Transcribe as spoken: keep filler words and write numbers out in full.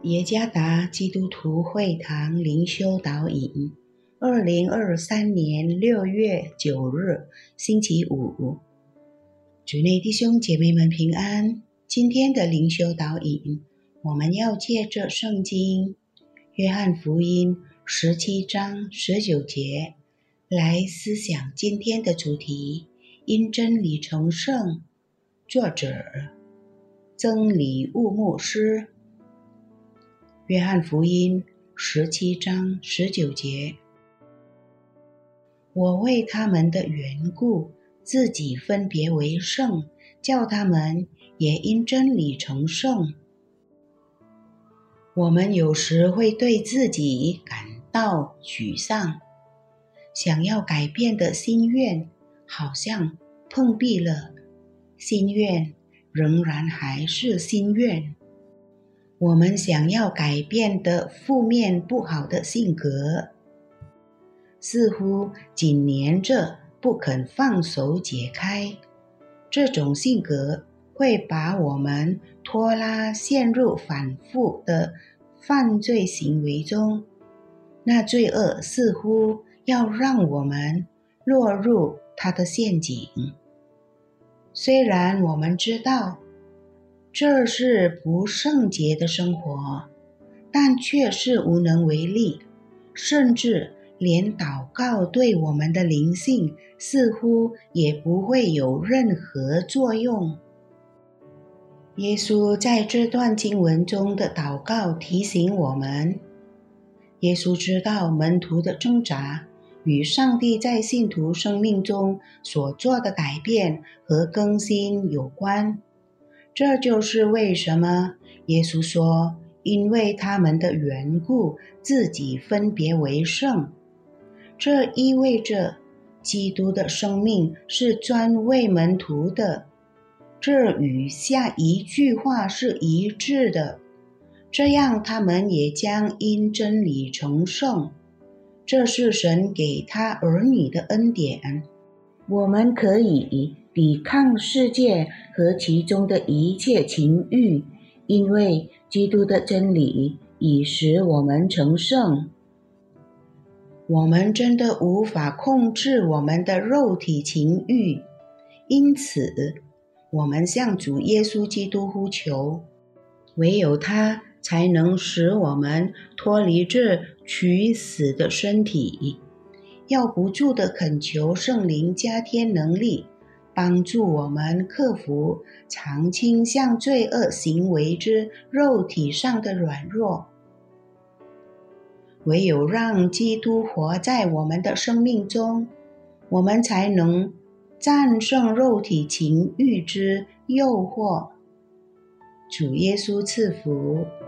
耶加达基督徒会堂灵修导引，二零二三年六月九日，星期五。主内弟兄姐妹们平安。今天的灵修导引，我们要借着圣经约翰福音十七章十九节来思想今天的主题：因真理成圣。作者曾理务牧师。约翰福音十七章十九节，我为他们的缘故，自己分别为圣，叫他们也因真理成圣。我们有时会对自己感到沮丧，想要改变的心愿好像碰壁了，心愿仍然还是心愿。我们想要改变的负面不好的性格，似乎紧黏着不肯放手解开。这种性格会把我们拖拉陷入反复的犯罪行为中，那罪恶似乎要让我们落入它的陷阱。虽然我们知道这是不圣洁的生活，但却是无能为力，甚至连祷告对我们的灵性似乎也不会有任何作用。耶稣在这段经文中的祷告提醒我们，耶稣知道门徒的挣扎与上帝在信徒生命中所做的改变和更新有关。这就是为什么耶稣说，因为他们的缘故，自己分别为圣。这意味着基督的生命是专为门徒的，这与下一句话是一致的，这样他们也将因真理成圣。这是神给他儿女的恩典。我们可以抵抗世界和其中的一切情欲，因为基督的真理已使我们成圣。我们真的无法控制我们的肉体情欲，因此我们向主耶稣基督呼求，唯有他才能使我们脱离这取死的身体。要不住地恳求圣灵加添能力，帮助我们克服常倾向罪恶行为之肉体上的软弱。唯有让基督活在我们的生命中，我们才能战胜肉体情欲之诱惑。主耶稣赐福。